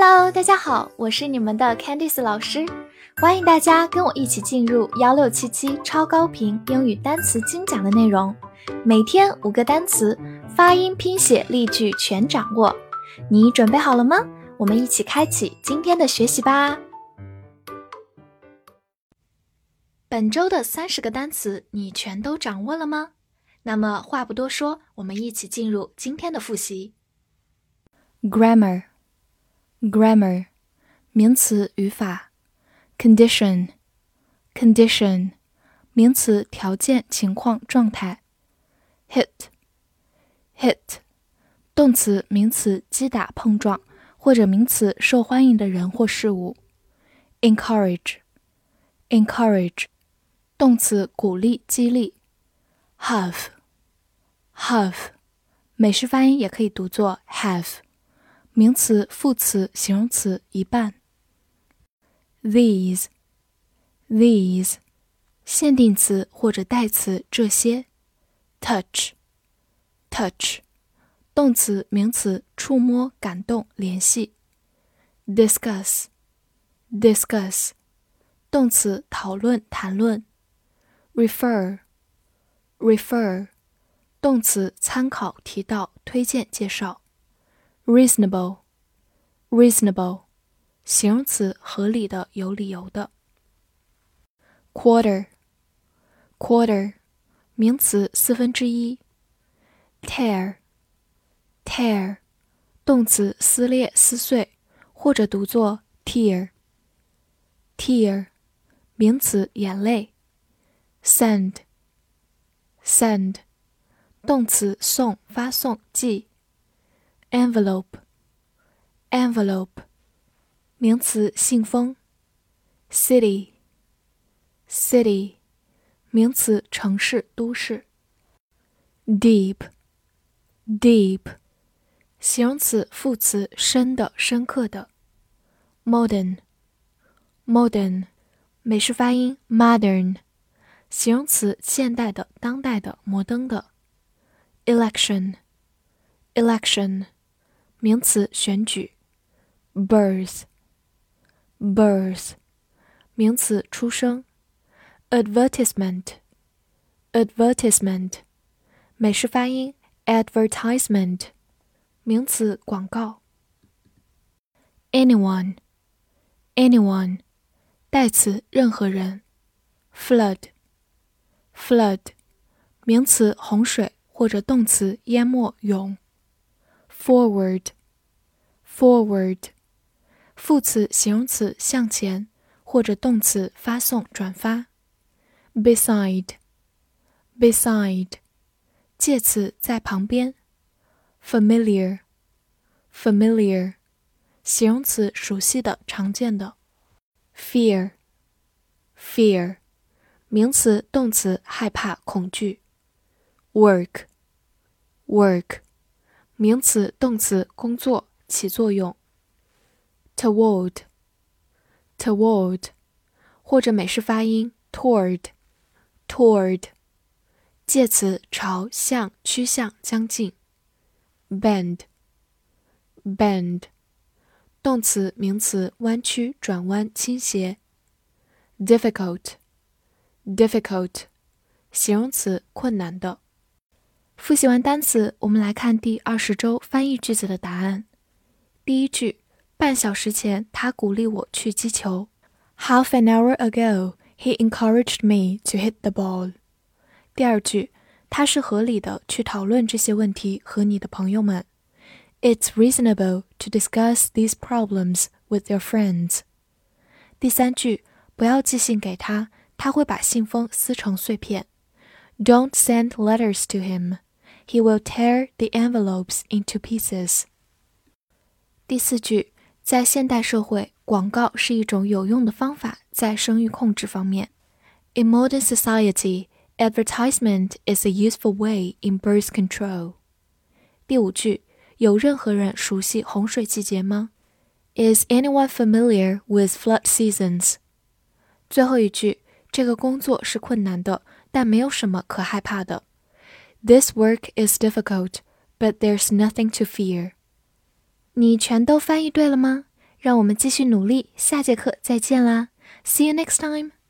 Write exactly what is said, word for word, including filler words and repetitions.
Hello， 大家好，我是你们的 Candice 老师，欢迎大家跟我一起进入一六七七超高频英语单词精讲的内容，每天五个单词，发音、拼写、例句全掌握。你准备好了吗？我们一起开启今天的学习吧。本周的三十个单词你全都掌握了吗？那么话不多说，我们一起进入今天的复习。 Grammar Grammar 名词语法 Condition Condition 名词条件情况状态 Hit Hit 动词名词击打碰撞或者名词受欢迎的人或事物 Encourage Encourage 动词鼓励激励 Have Have 美式发音也可以读作 have名词、副词、形容词一半 These These 限定词或者代词这些 Touch Touch 动词、名词触摸、感动、联系 Discuss Discuss 动词讨论、谈论 Refer Refer 动词参考、提到、推荐、介绍Reasonable Reasonable 形容词合理的有理由的 Quarter Quarter 名词四分之一 Tear Tear 动词撕裂撕碎或者读作 tear Tear 名词眼泪 Send Send 动词送发送寄Envelope Envelope 名词信封 City City 名词城市都市 Deep Deep 形容词副词深的深刻的 Modern Modern 美式发音 Modern 形容词现代的当代的摩登的 Election Election名词选举 Birth Birth 名词出生 Advertisement Advertisement 美式发音 Advertisement 名词广告 Anyone Anyone 代词任何人 Flood Flood 名词洪水或者动词淹没涌Forward Forward 副词形容词向前或者动词发送转发 Beside Beside 介词在旁边 Familiar Familiar 形容词熟悉的常见的 Fear Fear 名词动词害怕恐惧 Work Work名词动词工作起作用 Toward Toward 或者美式发音 Toward Toward 介词朝向趋向将近 Bend Bend 动词名词弯曲转弯倾斜 Difficult Difficult 形容词困难的复习完单词，我们来看第二十周翻译句子的答案。第一句，半小时前他鼓励我去击球。Half an hour ago, he encouraged me to hit the ball. 第二句，它是合理的去讨论这些问题和你的朋友们。It's reasonable to discuss these problems with your friends. 第三句，不要寄信给他，他会把信封撕成碎片。Don't send letters to him.He will tear the envelopes into pieces. 第四句，在现代社会，广告是一种有用的方法，在生育控制方面。In modern society, advertisement is a useful way in birth control. 第五句，有任何人熟悉洪水季节吗？ Is anyone familiar with flood seasons? 最后一句，这个工作是困难的，但没有什么可害怕的。This work is difficult, but there's nothing to fear. 你全都翻译对了吗？ 让我们继续努力，下节课再见啦 ！See you next time!